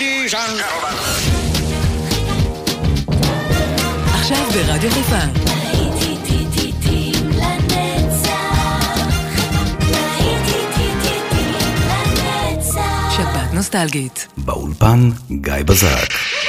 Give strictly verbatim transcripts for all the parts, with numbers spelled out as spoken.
Ladies and gentlemen. עכשיו ברדיו חיפה. שבת נוסטלגית. באולפן גיא בזק.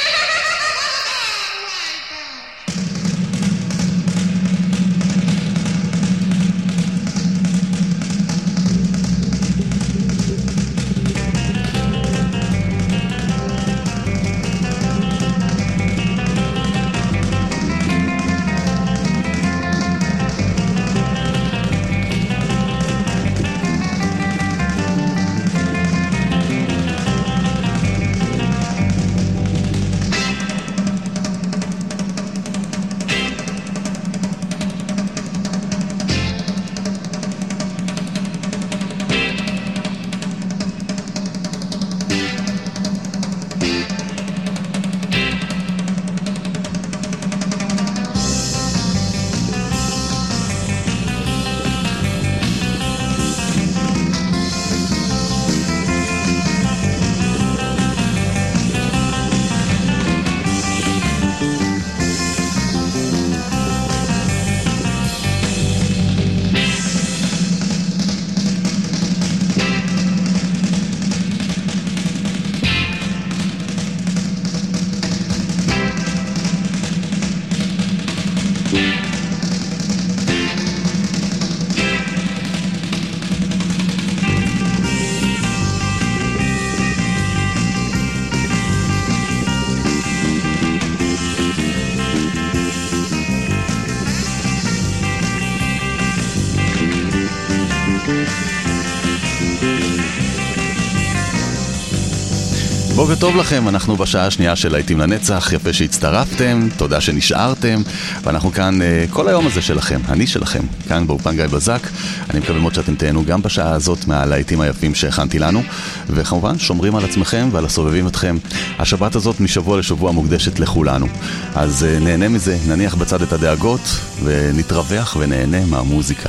בוקר טוב לכם, אנחנו בשעה השנייה של להיטים לנצח, יפה שהצטרפתם, תודה שנשארתם, ואנחנו כאן uh, כל היום הזה שלכם, אני שלכם, כאן באולפן גיא בזק. אני מקווה מאוד שאתם תהנו גם בשעה הזאת מהלהיטים היפים שהכנתי לנו, וכמובן שומרים על עצמכם ועל הסובבים אתכם. השבת הזאת משבוע לשבוע מוקדשת לכולנו, אז uh, נהנה מזה, נניח בצד את הדאגות ונתרווח ונהנה מהמוזיקה.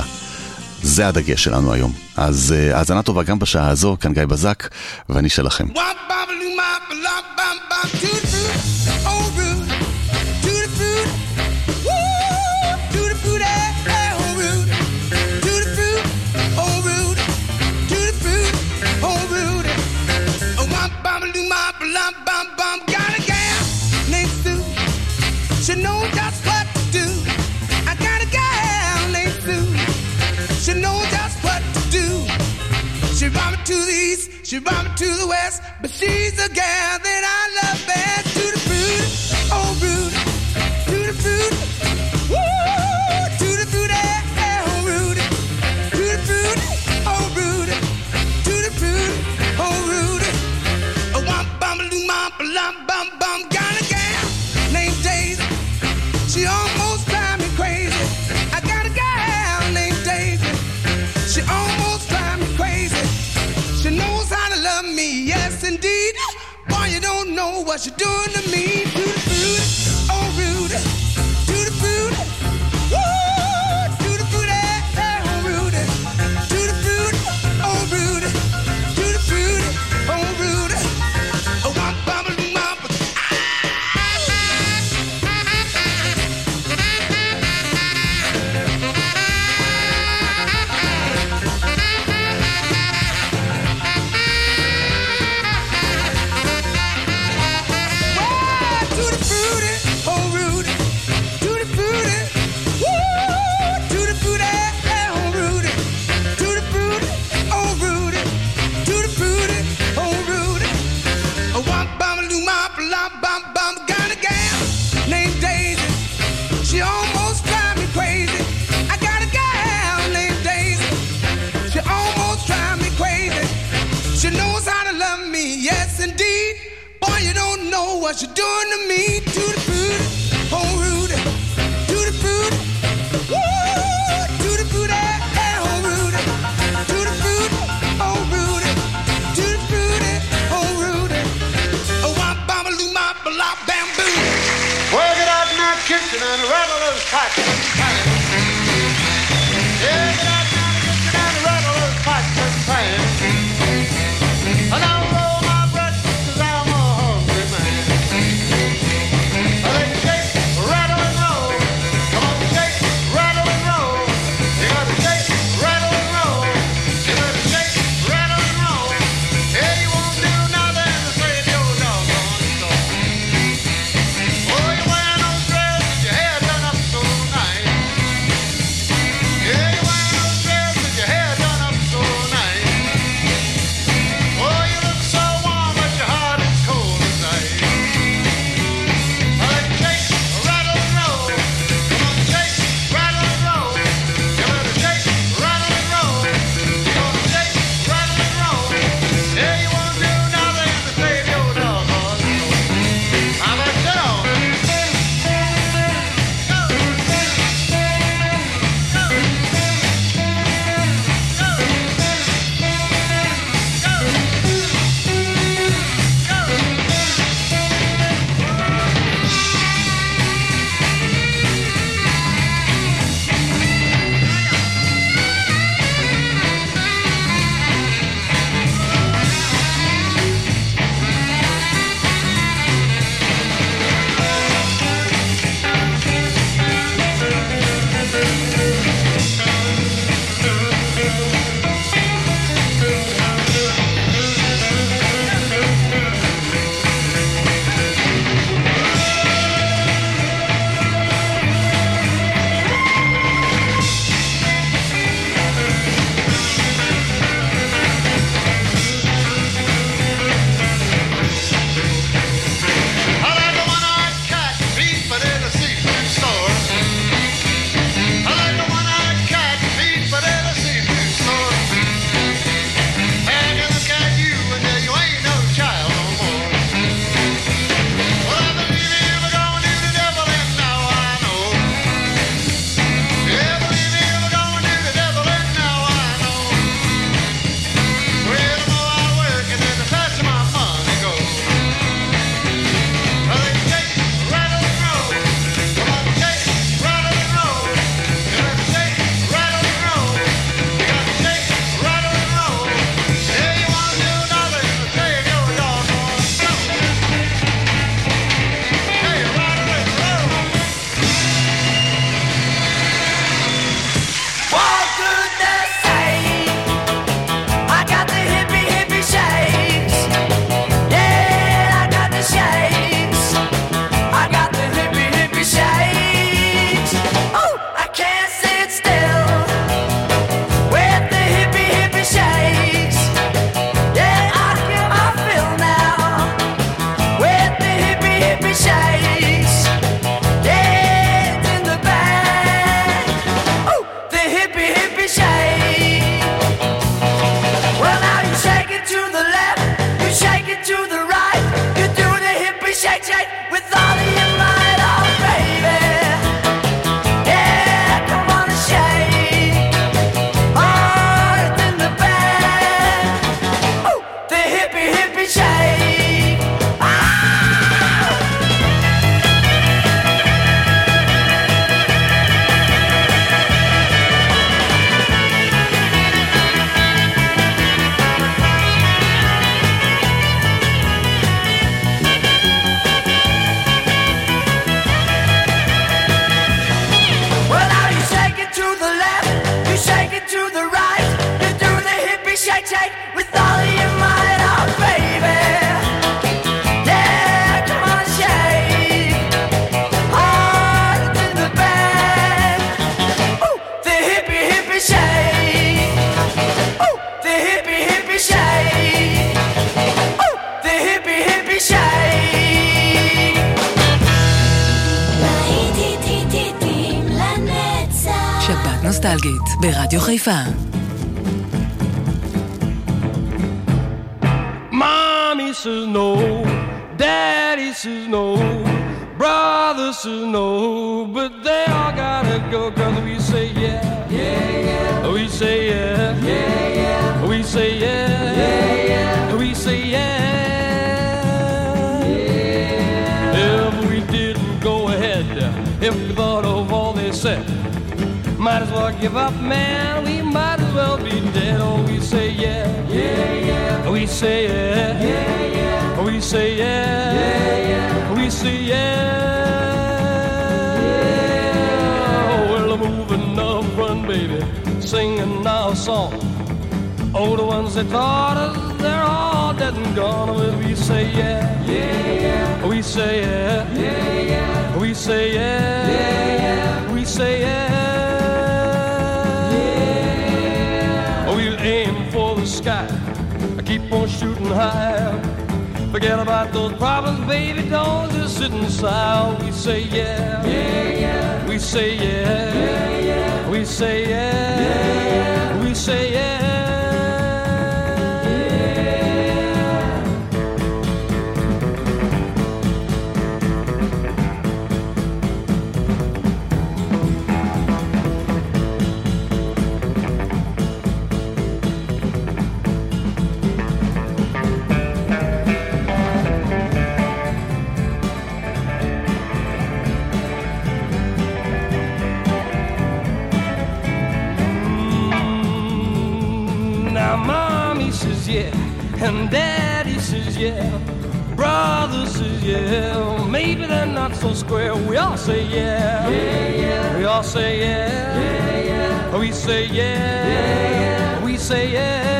זה הדגש שלנו היום. אז האזנה טובה גם בשעה הזו, כאן גיא בזק, ואני שלכם. She knows just what to do. I got a gal named Sue. She knows just what to do. She brought me to the east, she brought me to the west, but she's the gal that I love best. To the fruit, oh Rudy, to the fruit, woo, to the fruit, eh, oh Rudy, to the fruit, oh Rudy, to the fruit, oh Rudy. Oh, womp bum loom bum bum bum bum, got a gal named Daisy. She almost drives me crazy. I got a gal named Daisy. She almost drives me crazy. She knows how to love me, yes indeed. Boy, you don't know what she's doing to me. To the fruit, oh Rudy, to the fruit, woo, to the fruit, eh, eh, oh Rudy, to the fruit, oh Rudy, to the fruit, oh Rudy. Oh, womp bum loom bum. She almost drives me crazy. I got a gal named Daisy. She almost drives me crazy. She knows how to love me, yes indeed. Boy, you don't know what she's doing to me. To the fruit, oh Rudy, to the fruit, woo, to the fruit, eh, eh, oh Rudy, to the fruit, oh Rudy, to the fruit, oh Rudy. Oh, womp bam loom bam bam bamboo. Work it out in that kitchen and rattle those pots. Yeah, get out in that kitchen and rattle those pots and pans. And I'll roll my breakfast 'cause I'm a hungry נוסטלגית, ברדיו חיפה. Mommy says no, Daddy says no, brother says no, but they all gotta go, cause we say yeah, yeah, yeah, we say yeah, yeah, yeah, we say yeah, yeah, yeah, we say yeah, yeah. If we didn't go ahead, if we thought of all they said, might as well give up, man, we might as well be dead. Oh, we say yeah, yeah, yeah, we say yeah, yeah, yeah, we say yeah, yeah, yeah, we say yeah, yeah. Oh, well, I'm moving up, run, baby, singing our song. Oh, the ones that taught us, they're all dead and gone. Well, we say yeah, yeah, yeah, we say yeah, yeah, yeah, we say yeah, yeah, yeah, we say yeah. Aim for the sky, I keep on shooting high. Forget about those problems, baby, don't just sit inside. We say yeah, yeah, yeah, we say yeah, yeah, yeah, we say yeah, yeah, yeah, we say yeah, yeah. Yeah, and Daddy says yeah, brother says yeah, maybe they're not so square. We all say yeah, yeah, yeah. We all say yeah, yeah, yeah. We say yeah, yeah, yeah. We say yeah.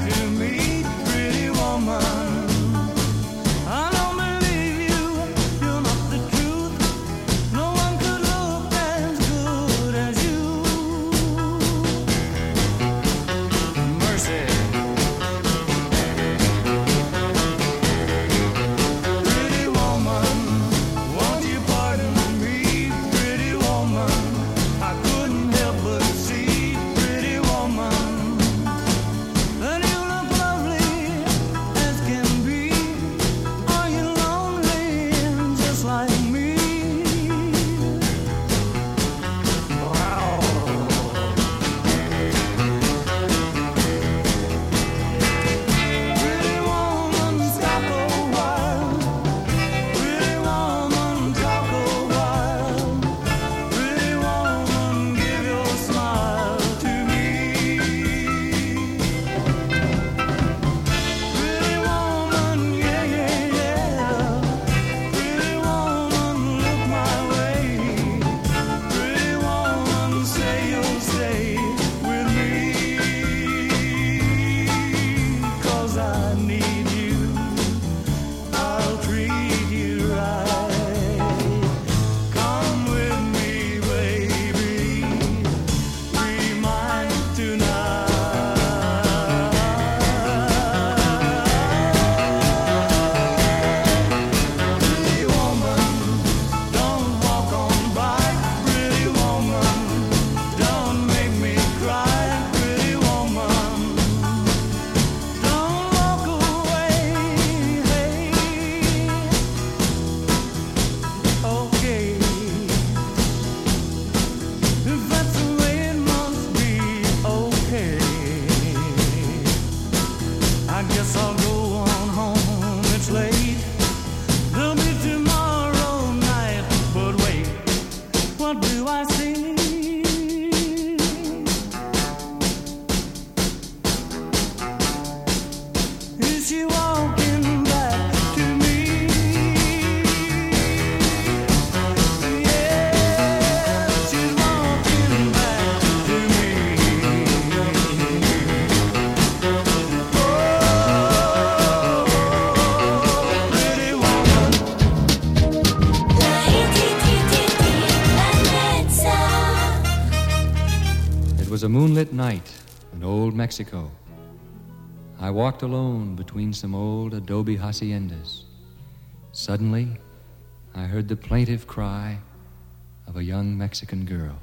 I don't believe you, you was a moonlit night in old Mexico. I walked alone between some old adobe haciendas. Suddenly, I heard the plaintive cry of a young Mexican girl.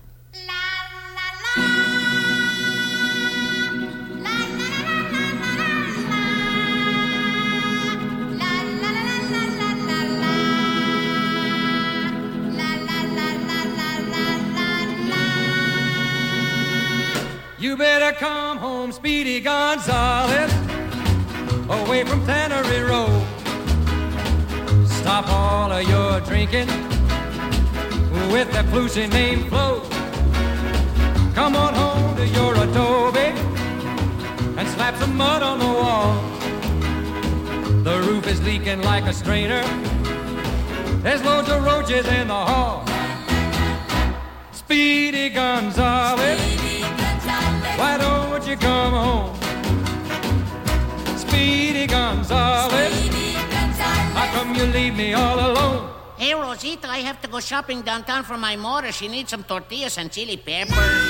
You better come home, Speedy Gonzales, away from Tannery Road. Stop all of your drinking with that flusy name Flo. Come on home to your adobe and slap some mud on the wall. The roof is leaking like a strainer. There's loads of roaches in the hall. Speedy Gonzales, why don't you come home? Speedy Gonzales, how come you leave me all alone? Hey, Rosita, I have to go shopping downtown for my mother. She needs some tortillas and chili peppers.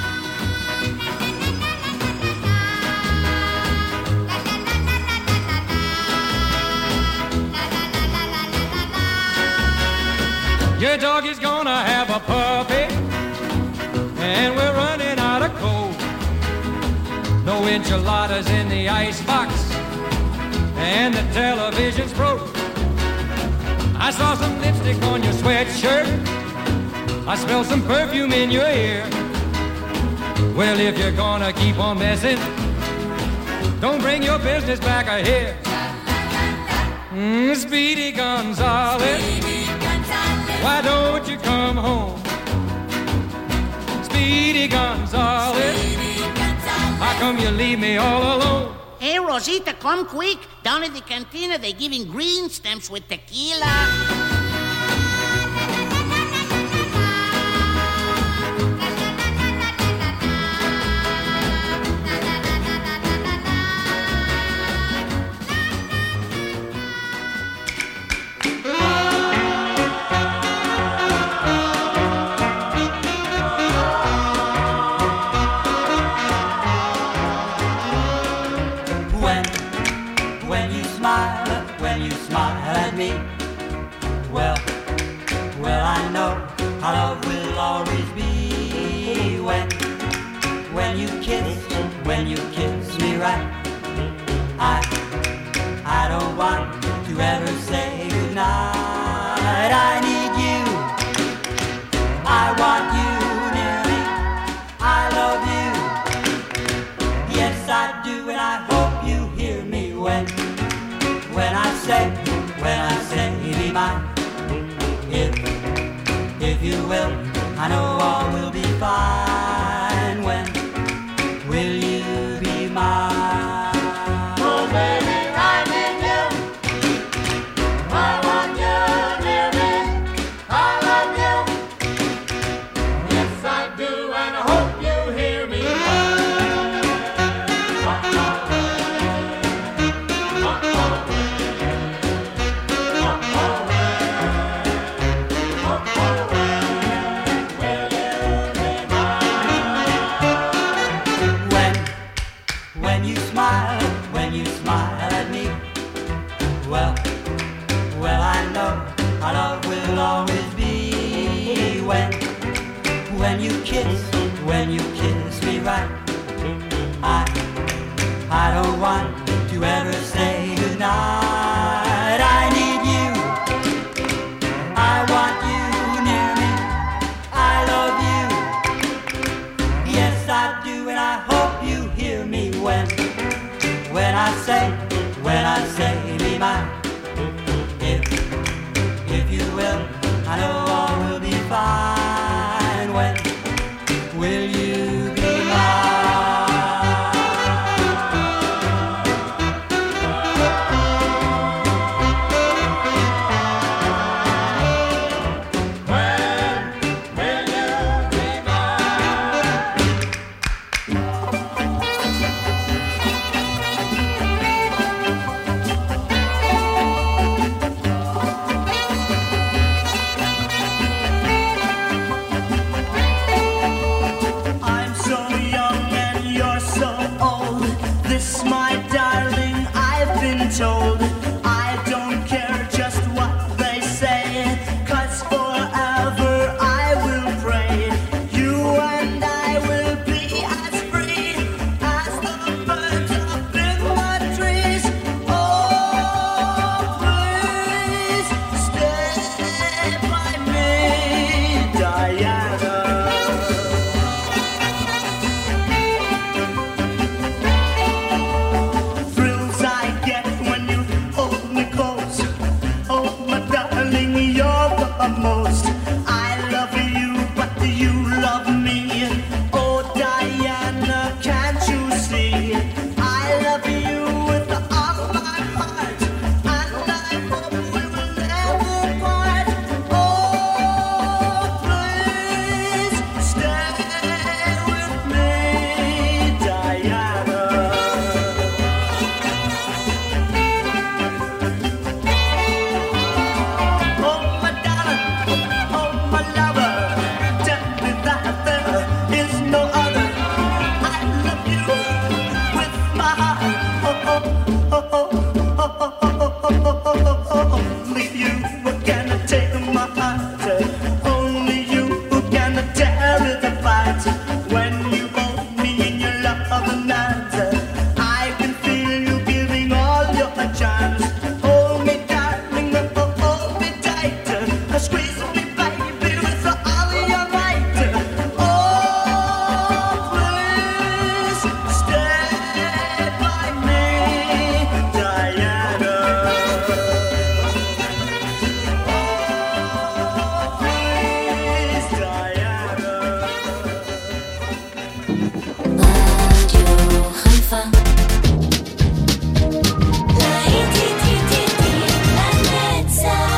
Your dog is gonna have a puppy, and we're running out of coal. No enchiladas in the icebox, and the television's broke. I saw some lipstick on your sweatshirt. I smell some perfume in your ear. Well, if you're gonna keep on messing, don't bring your business back here. Mm, Speedy Gonzales, why don't you come home? Speedy Gonzales, how come you leave me all alone? Hey, Rosita, come quick. Down at the cantina, they're giving green stamps with tequila. Well, well, I know our love will always be when, when you kiss, when you kiss me right. I, I don't want to ever say goodnight. I need you, I want you near me. I love you, yes I do, and I hope you hear me when, when I say, when I say be mine. If, if you will, I know all will be fine. When will you be mine? Oh baby, I need you, I want you near me. I love you, yes I do, and I hope you hear me. Our love will always be when, when you kiss, when you kiss me right. I, I don't want to ever say goodnight. I need you, I want you near me. I love you, yes I do, and I hope you hear me when, when I say, when I say be mine. If you will, I know all will be fine. When will you be mine? I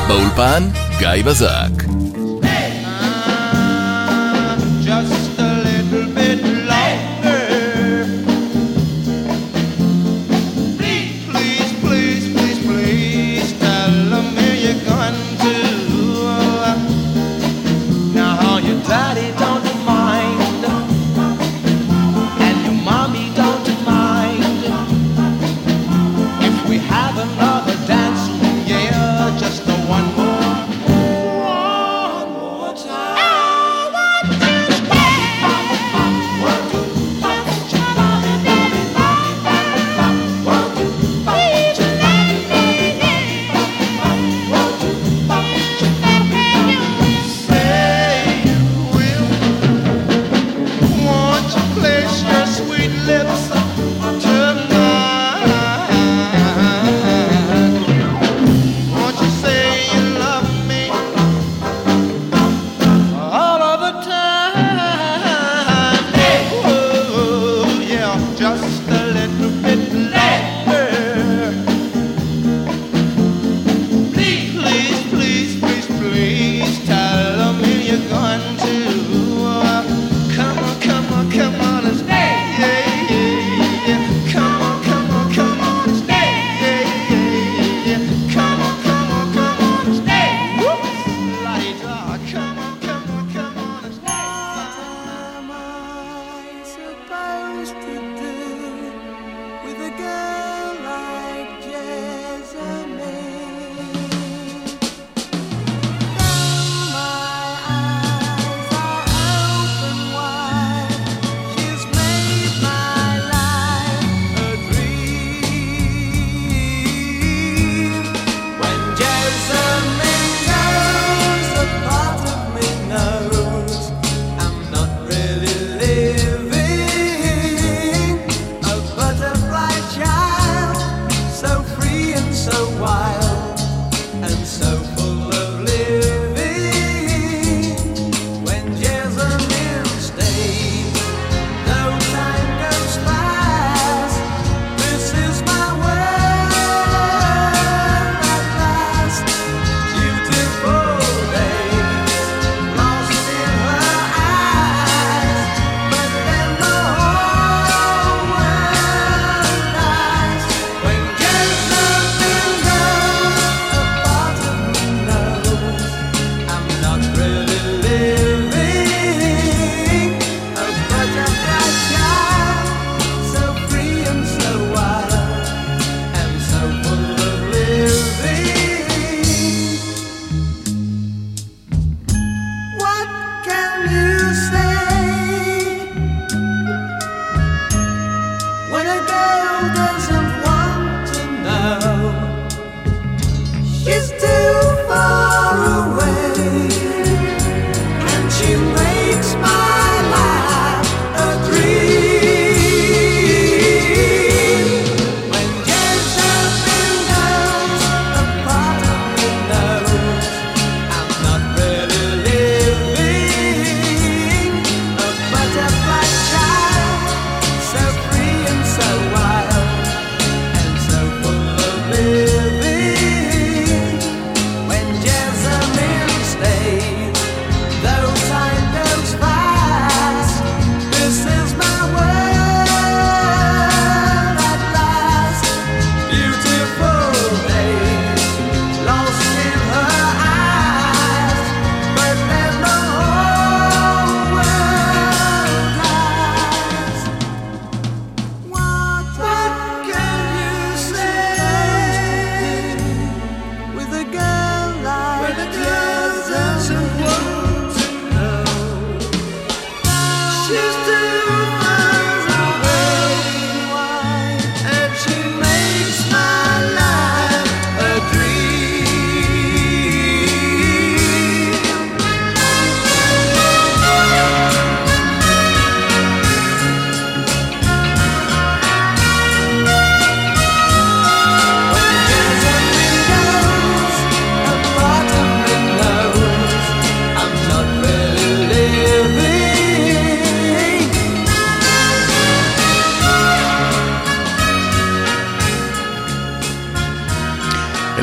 באולפן גיא בזק. Just a little bit longer. Please, please, please, please, please tell me you're going to. Now your daddy don't mind, and your mommy don't mind, if we have another dance, yeah, just the one more. One more time.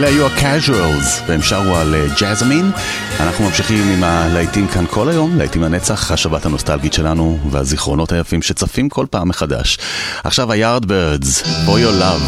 אלה היו ה-Casuals, והם שרו על ג'זמין. אנחנו ממשיכים עם הלהיטים כאן כל היום, להיטים לנצח, השבת הנוסטלגית שלנו והזיכרונות היפים שצפים כל פעם מחדש. עכשיו ה-Yardbirds, For Your Love.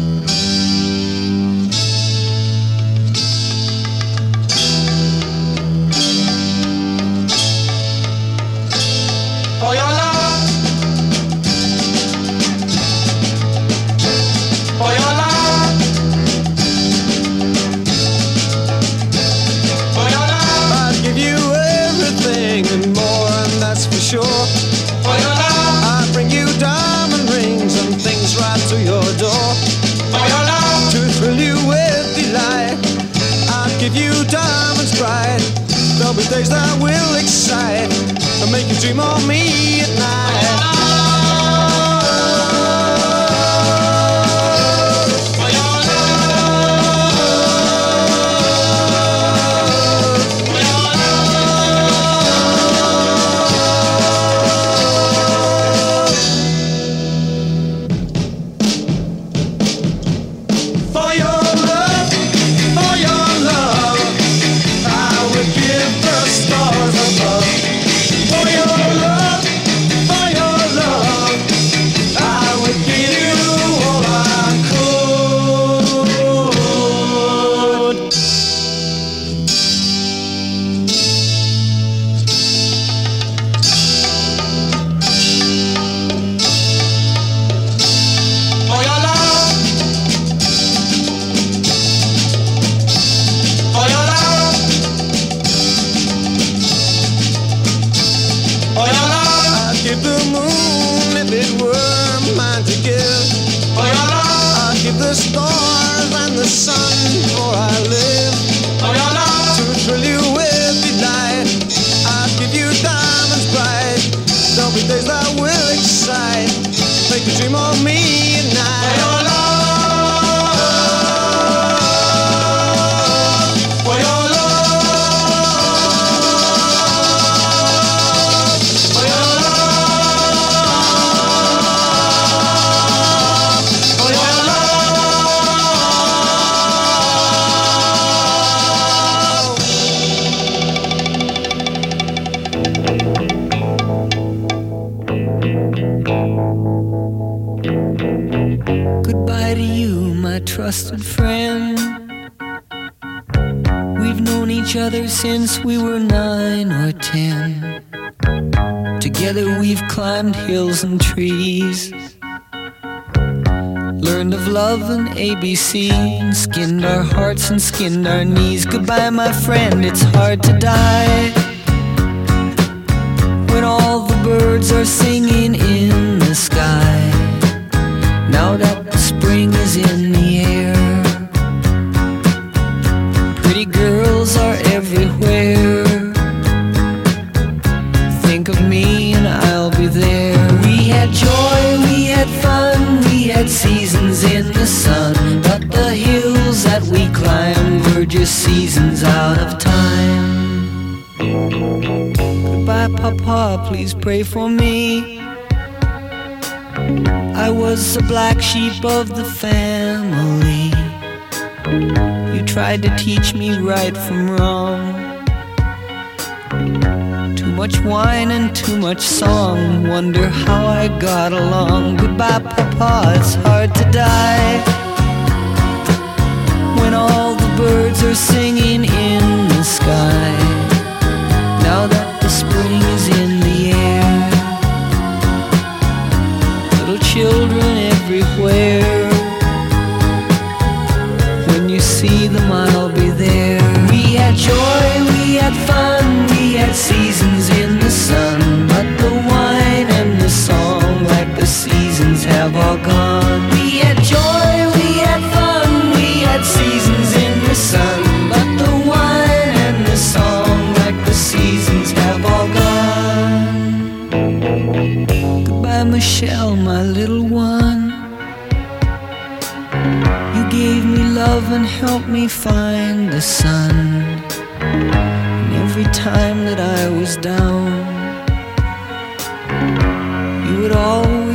There'll be days that will excite and make you dream of me at night. Trusted friend, we've known each other since we were nine or ten. Together we've climbed hills and trees, learned of love and A B C, and skinned our hearts and skinned our knees. Goodbye, my friend, it's hard to die when all the birds are singing in the sky. Now that the spring is in the air, pretty girls are everywhere. Think of me and I'll be there. We had joy, we had fun, we had seasons in the sun, but the hills that we climbed were just seasons out of time. Goodbye, Papa, please pray for me. I was the black sheep of the family. You tried to teach me right from wrong. Too much wine and too much song, wonder how I got along. Goodbye, Papa, it's hard to die when all the birds are singing in the sky. Now that the spring is in the air, children everywhere. When you see them, I'll be there. We had joy, we had fun, we had seasons in the sun, but the wine and the song, like the seasons, have all gone. We had joy, we had fun, we had seasons in the sun, but the wine and the song, like the seasons, have all gone. Goodbye, Michelle, my little one. You gave me love and helped me find the sun. And every time that I was down, you would always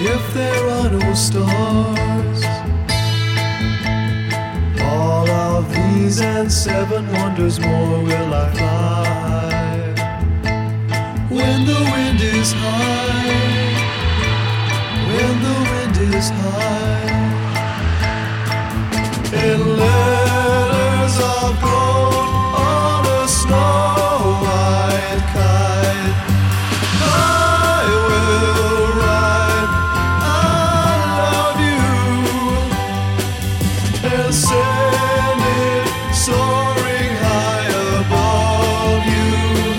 if there are no stars. All of these and seven wonders more will I fly. When the wind is high, when the wind is high, in letters of gold on a snow white kite, I will write I love you and send it soaring high above you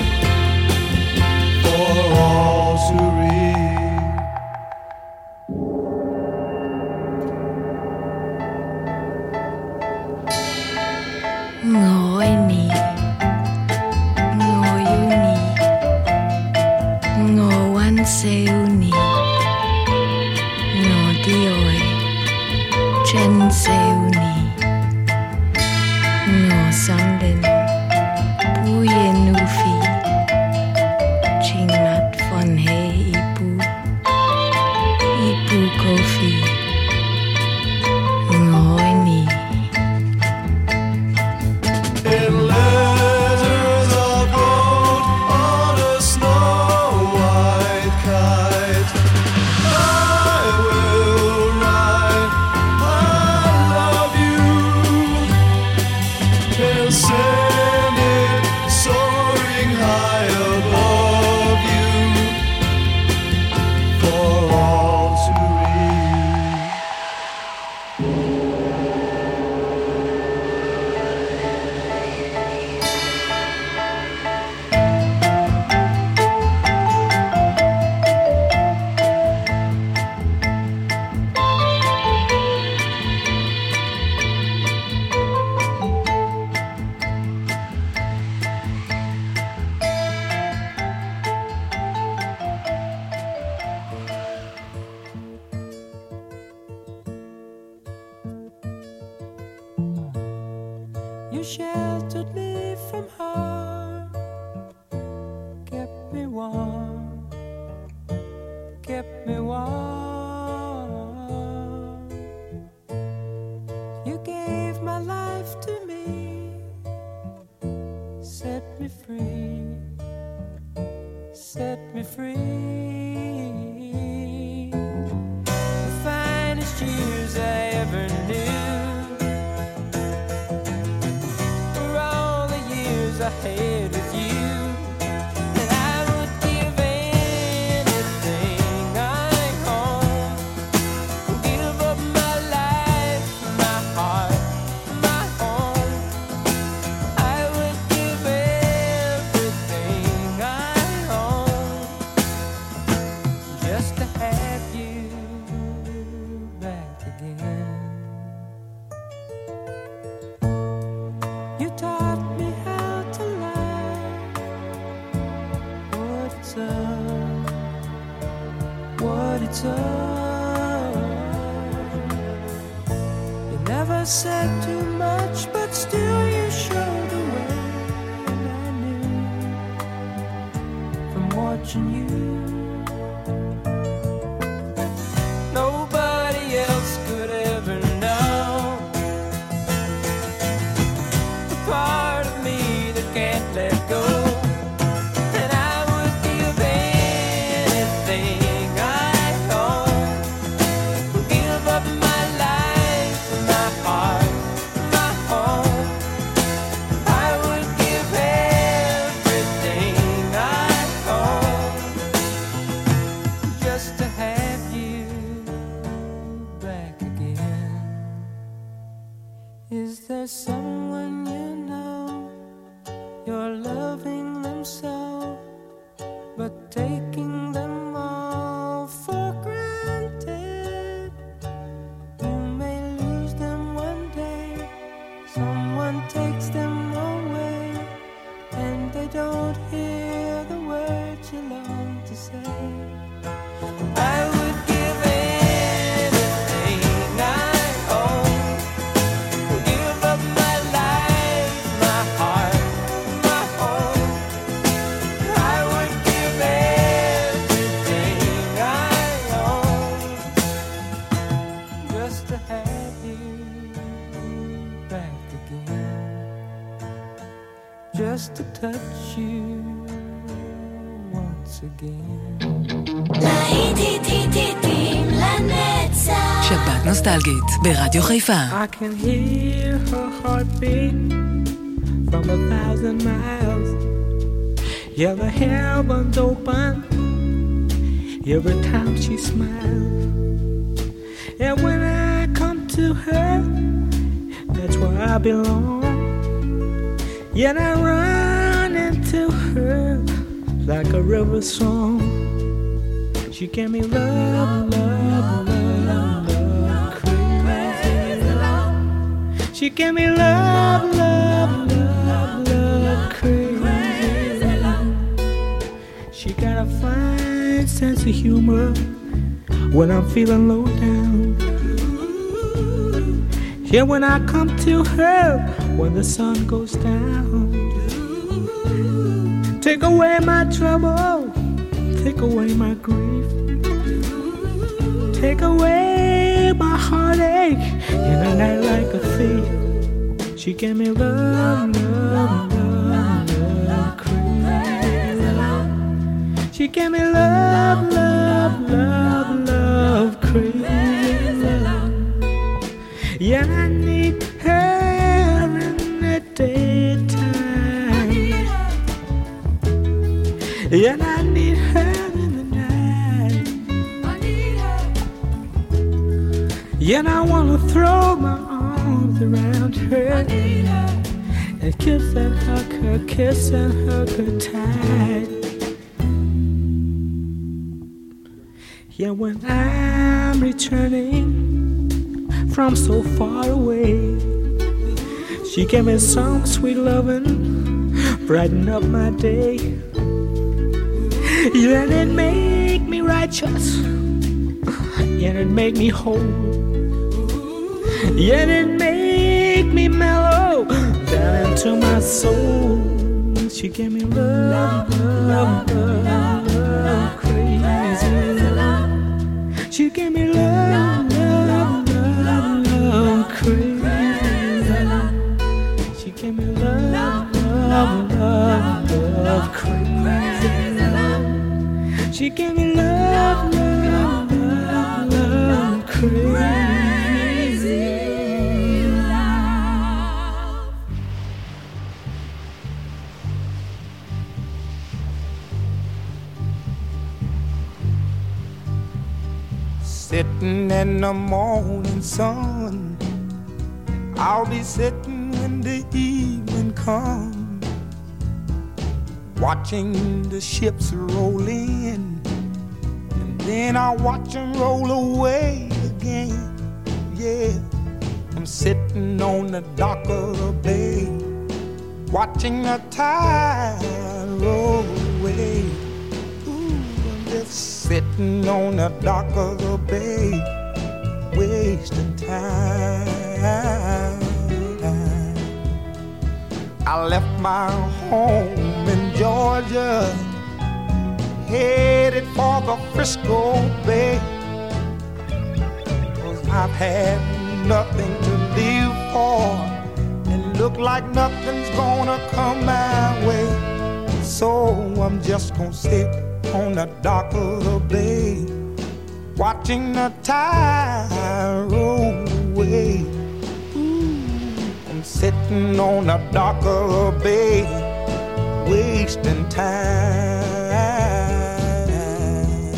for all to read. Ngồi nì, ngồi u nì, ngồi quan sêu nì, ngồi đi ôi, chân sêu nì, ngồi sang đến, bu yên u phi, chinh mặt von he ipu, ipu kofi, ngồi nì. In letters of gold on a snow white kite, I will write I love you and send it soaring high above you for all to read. You sheltered me from harm, kept me warm, kept me warm. You gave my life to me, set me free, set me free. The finest years I ever knew, I had with you, and I would give anything I own, give up my life, my heart, my home. I would give everything I own just to have you back again. You taught me how to love, what it's up, what it's up. You never said too much, but still you showed the way, and I knew from watching you. Nobody else could ever know the part of me that can't let go. And I would give anything I own, give up my life, my heart, my home. I would give everything I own just to have you back again. Is there someone you know, you're loving them so, but taking them all for granted? You may lose them one day, someone takes them away, and they don't hear the words you long to say. I would give anything I own, give up my life, my heart, my home. I would give everything I own touch you once again. שבת נוסטלגית ברדיו חיפה. I can hear her heartbeat from a thousand miles. Yeah, the heavens open every time she smiles. And when I come to her, that's where I belong. Yet I run into her like a river song. She gave me love, love, love, love, crazy love. She gave me love, love, love, love, crazy love. She got a fine sense of humor when I'm feeling low down. Yeah, when I come to her, when the sun goes down. Take away my trouble, take away my grief, take away my heartache in a night like a thief. She gave me love, love, love, love, crazy love. She gave me love, love, love, love, crazy love. Yeah, I need her in the daytime. Yeah, I need her in the night. I need her. Yeah, I wanna throw my arms around her. I need her. And kiss and hug her, kiss and hug her tight. Yeah, when I'm returning from so far away, she gave me some sweet loving, brighten up my day. Yeah, and it make me righteous, yeah, it make me whole, yeah, it make me mellow down into my soul. She gave me love, love, love, love, crazy love. She gave me love, love, love, love, crazy love. She gave me love, love, love, love, crazy love. She gave me love, love, love, love, crazy love. Sitting in the morning sun, I'll be sitting when the evening comes, watching the ships roll in, and then I'll watch them roll away again. Yeah, I'm sitting on the dock of the bay, watching the tide roll away. Ooh, I'm just sitting on the dock of the bay, wasting time. I left my home in Georgia, headed for the Frisco Bay, 'cause I've had nothing to live for, and look like nothing's gonna come my way. So I'm just gonna sit on the dock of the bay, watching the tide roll away. Ooh, I'm sitting on the dock of the bay, wasting time.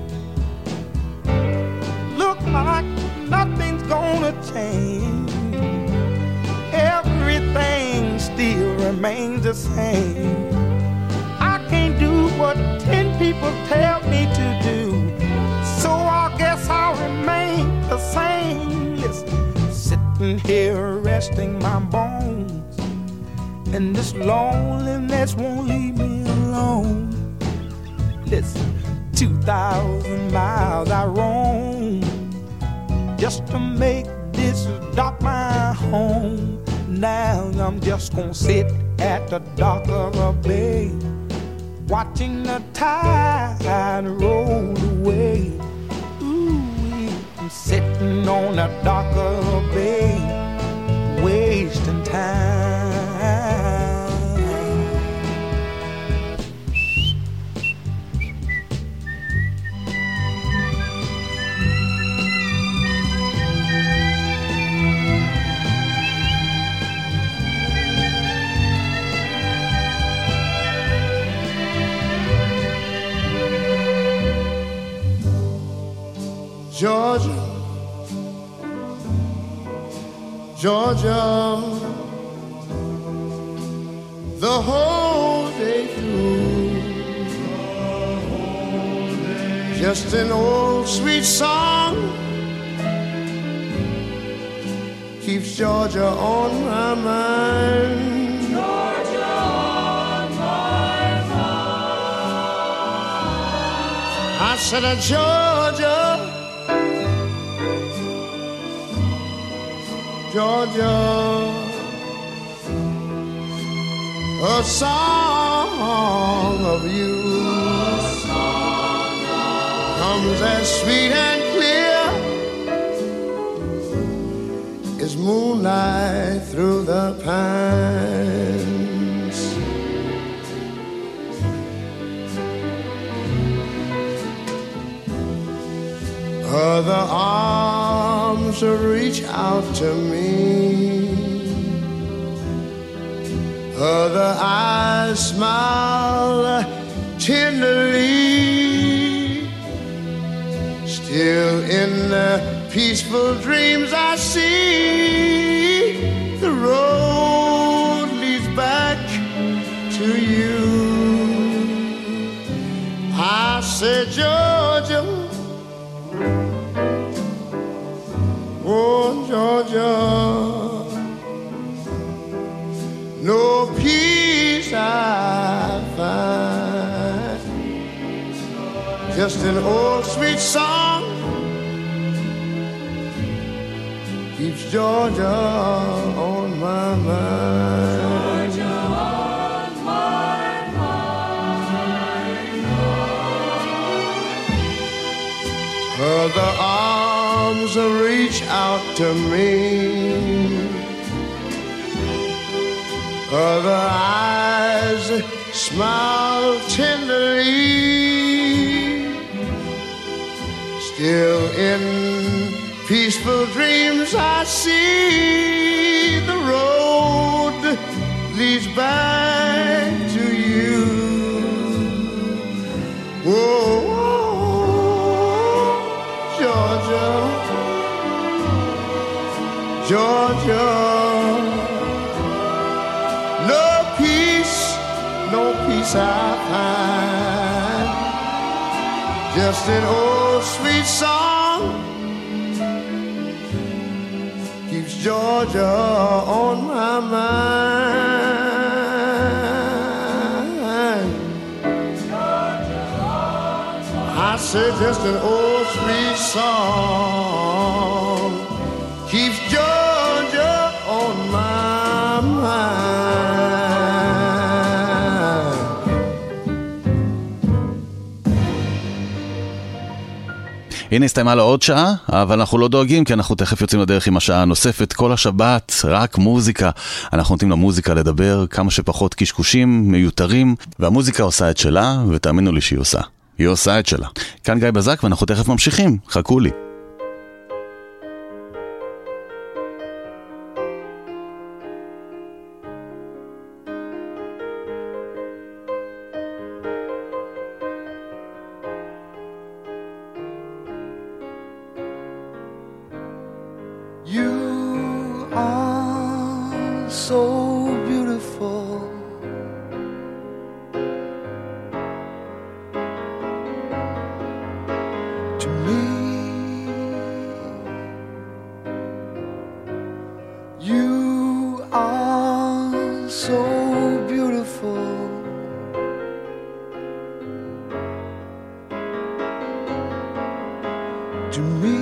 Look like nothing's gonna change, everything still remains the same. I can't do what ten people tell me to do, so I guess I'll remain the same. Listen, sitting here resting my bones, and this loneliness won't leave me alone. Listen, two thousand miles I roam just to make this dock my home. Now I'm just gonna sit at the dock of a bay, watching the tide roll away. Ooh, I'm sitting on the dock of a bay, wasting time. Georgia, Georgia, the whole day through, just an old sweet song keeps Georgia on my mind. Georgia on my mind. I said, uh, Georgia, Georgia, a song of you comes as sweet and clear as moonlight through the pines. Other arms reach out to me, other eyes smile tenderly. Still in the peaceful dreams I see, the road leads back to you. I said, Georgia, oh Georgia, no peace I find, just an old sweet song keeps Georgia on my mind. Georgia on my mind. Other arms reach out to me, other eyes smile tenderly. Still in peaceful dreams I see the road leads back to you. Whoa, Georgia, Georgia, no peace, no peace I find, just an old sweet song keeps Georgia on my mind. Georgia on my I said just an old sweet song keeps Georgia on my mind. הנה הסתיימה לו עוד שעה, אבל אנחנו לא דואגים, כי אנחנו תכף יוצאים לדרך עם השעה הנוספת. כל השבת, רק מוזיקה. אנחנו נותנים למוזיקה לדבר, כמה שפחות קשקושים, מיותרים, והמוזיקה עושה את שלה, ותאמינו לי שהיא עושה. היא עושה את שלה. כאן גיא בזק, ואנחנו תכף ממשיכים. חכו לי. You are so beautiful, to me. You are so beautiful, to me.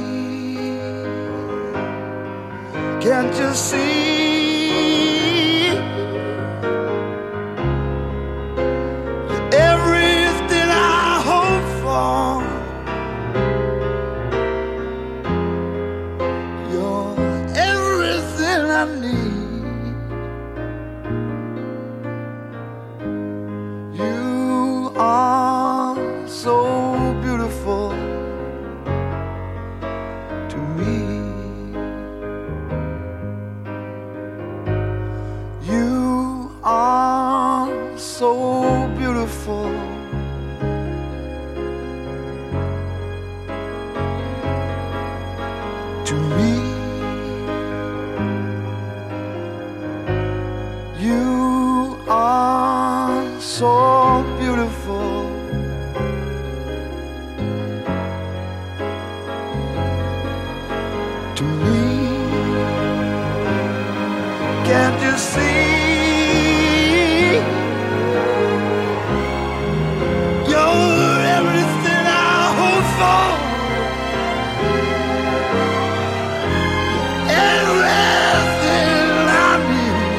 Can't you see everything I hope for? You're everything I need. You are so beautiful to me. to me. You are so beautiful. To me, can't you see? You're everything I hope for. Everything I need.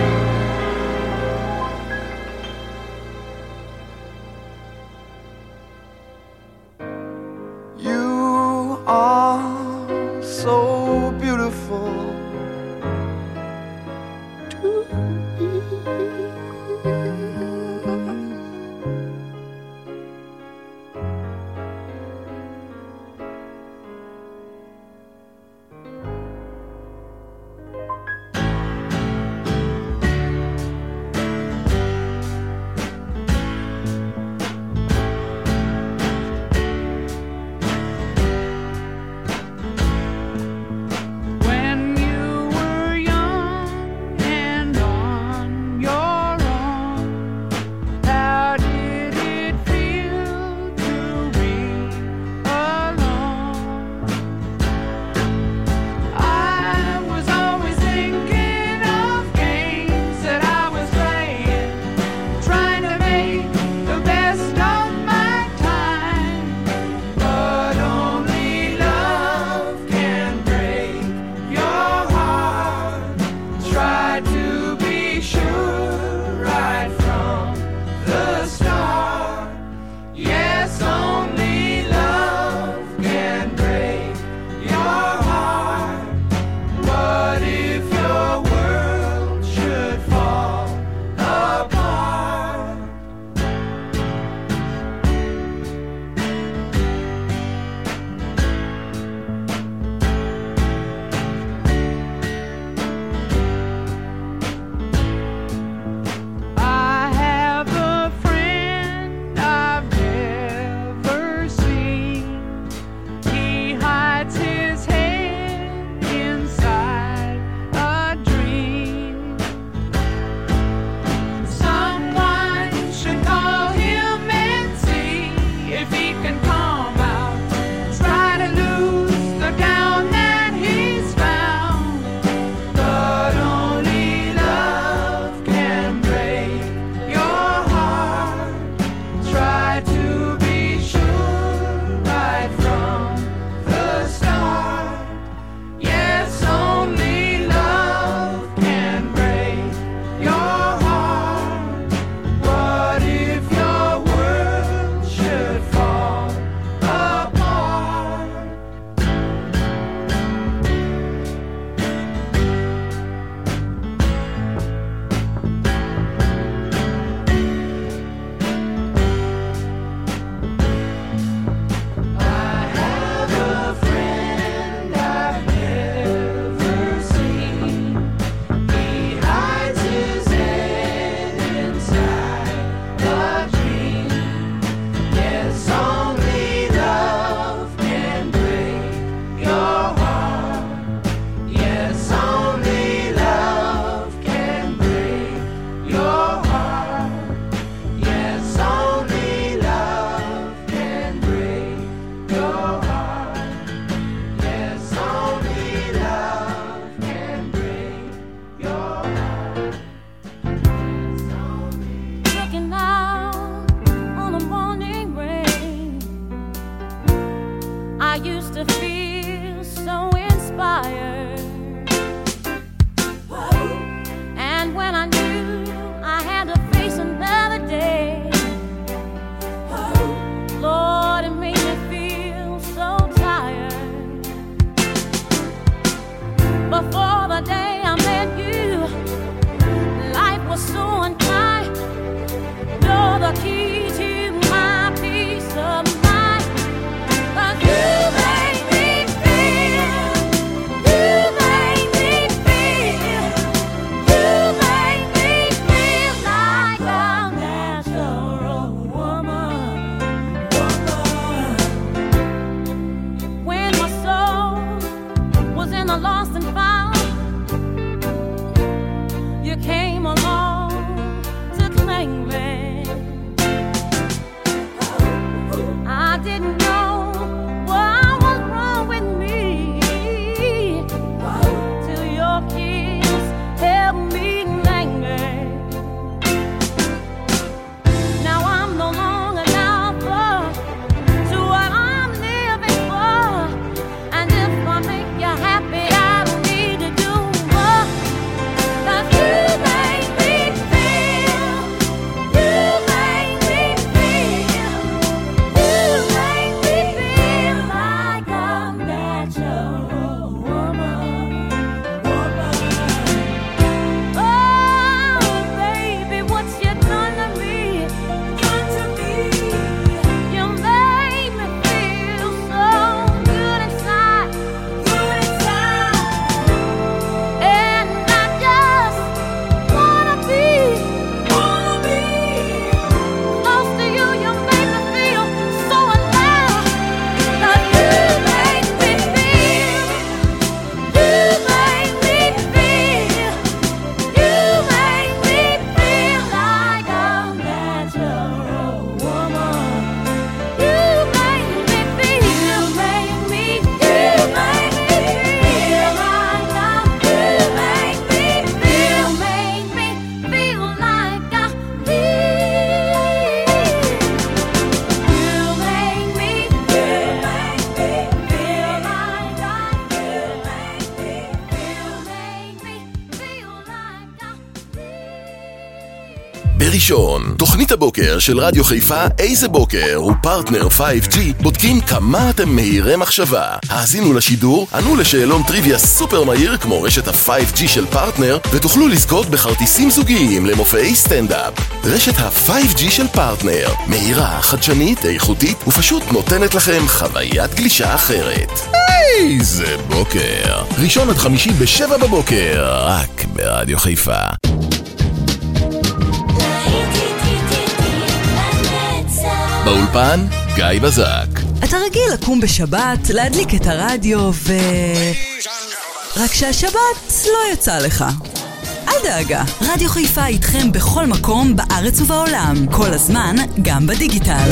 You are so beautiful to me. When you were young and on your own, how did it feel to be alone? I was always thinking of games that I was playing, trying to make the best of my time, but only love can break your heart. Try to be sure right from the start. Yes, only love can break your heart. What if your world should fall apart? I have a friend I've never seen. He hides his head inside a dream. Someone should call him and see if he can calm out. Try to lose the down that he's found. But only love can break your heart. Try to be sure right from the start. Yes, only love can break your heart. What if your world should fall apart? I have a friend I've never seen. He hides his head inside a dream. Yes, only love can break your heart. Yes, only love can break your heart. Yes, only love can break your heart. Yes, only love can break your heart. Looking out on a morning rain, I used to feel so inspired. And when I knew I had to face another day, Lord, it made me feel so tired. Before the day I met you, life was so unkind. You're the key to my peace of mind. 'Cause you make me feel, you ראשון. תוכנית הבוקר של רדיו חיפה איזה בוקר ופרטנר פייב ג'י בודקים כמה אתם מהירי מחשבה. האזינו לשידור, ענו לשאלון טריוויה סופר מהיר כמו רשת ה-פייב ג'י של פרטנר ותוכלו לזכות בכרטיסים זוגיים למופעי סטנדאפ. רשת ה-פייב ג'י של פרטנר, מהירה, חדשנית, איכותית ופשוט נותנת לכם חוויית גלישה אחרת. איזה בוקר. ראשון עד חמישי בשבע בבוקר, רק ברדיו חיפה. באולפן, גיא בזק. אתה רגיל לקום בשבת, להדליק את הרדיו ו... רק שהשבת לא יצא לך. אל דאגה, רדיו חיפה איתכם בכל מקום בארץ ובעולם, כל הזמן, גם בדיגיטל.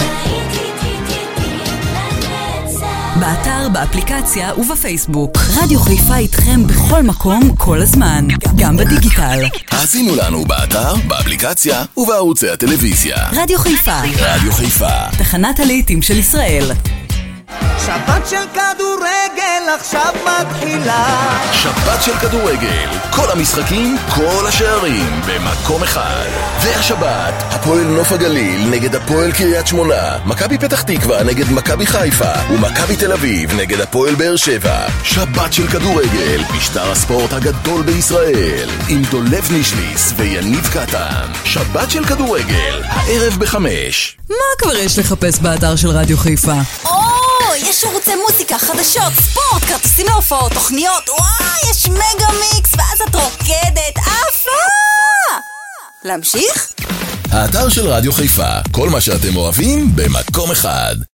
באתר, באפליקציה ובפייסבוק. רדיו חיפה איתכם בכל מקום, כל הזמן, גם בדיגיטל. האזינו לנו באתר, באפליקציה ובערוצי הטלוויזיה. רדיו חיפה. רדיו חיפה. תחנת הלהיטים של ישראל. שבת של כדורגל עכשיו מתחילה. שבת של כדורגל, כל המשחקים, כל השערים במקום אחד. והשבת, הפועל נוף הגליל נגד הפועל קריית שמונה, מכבי פתח תקווה נגד מכבי חיפה ומכבי תל אביב נגד הפועל באר שבע. שבת של כדורגל, משטר הספורט הגדול בישראל, עם דולב נישליס ויניב קטן. שבת של כדורגל, הערב בחמש. מה כבר יש לחפש באתר של רדיו חיפה? או, יש ערוצי מוזיקה, חדשות, ספורט, כרטיסים להופעות, תוכניות, וואי, יש מגה מיקס, ואז את רוקדת, עפה! להמשיך? האתר של רדיו חיפה, כל מה שאתם אוהבים במקום אחד.